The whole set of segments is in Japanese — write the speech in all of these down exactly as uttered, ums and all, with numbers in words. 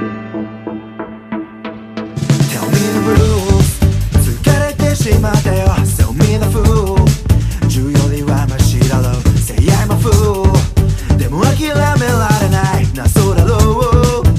Tell me the rules 疲れてしまったよ Sell me the fool 銃よりはマシだろう Say I'm a fool でも諦められない謎だろう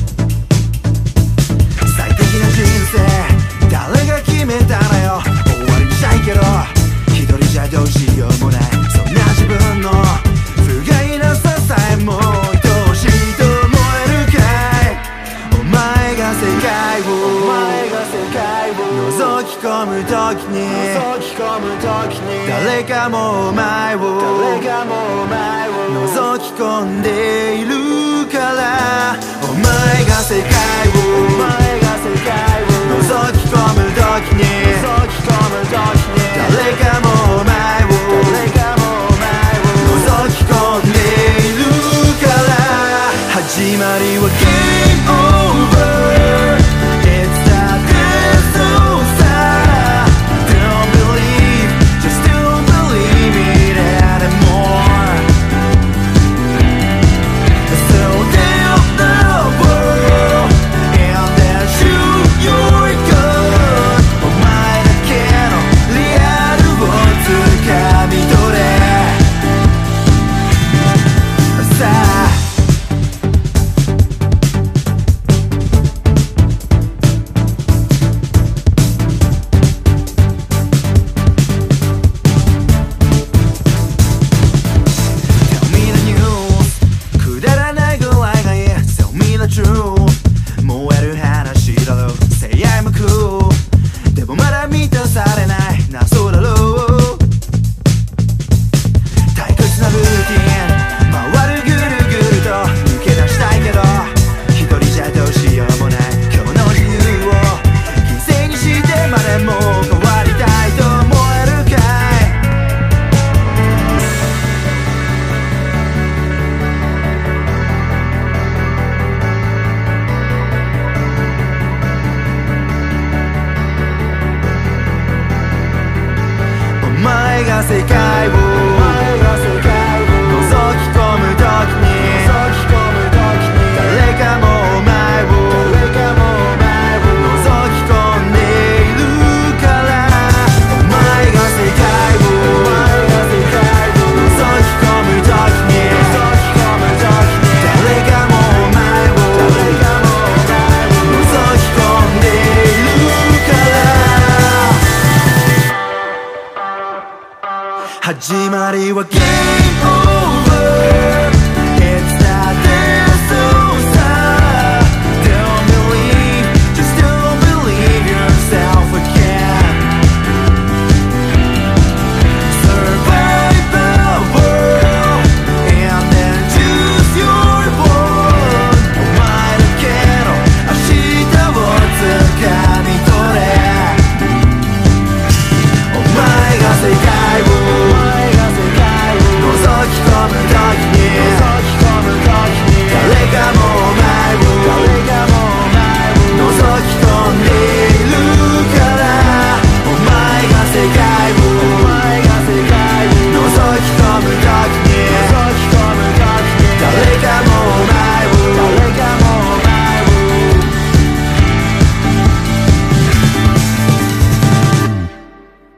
最適な人生誰が決めたのよ終わりにしたいけど一人じゃどうしようもないそんな自分の不甲斐なささえも愛しいと思えるかいお前が世界をお前が世界を覗き込む時に覗き込む時に誰かもお前を誰かもお前を覗き込んでいるからお前が世界をお前が世界を覗き込む時に覗き込む時に誰かもお前を誰かもお前を覗き込んでいるから始まりは Game Over It's not this over Don't believe Just don't believe it anymore So tell the world And then shoot your gun お前だけのリアルを掴み取れさあTell me the news くだらないぐらいがいい Tell me the truth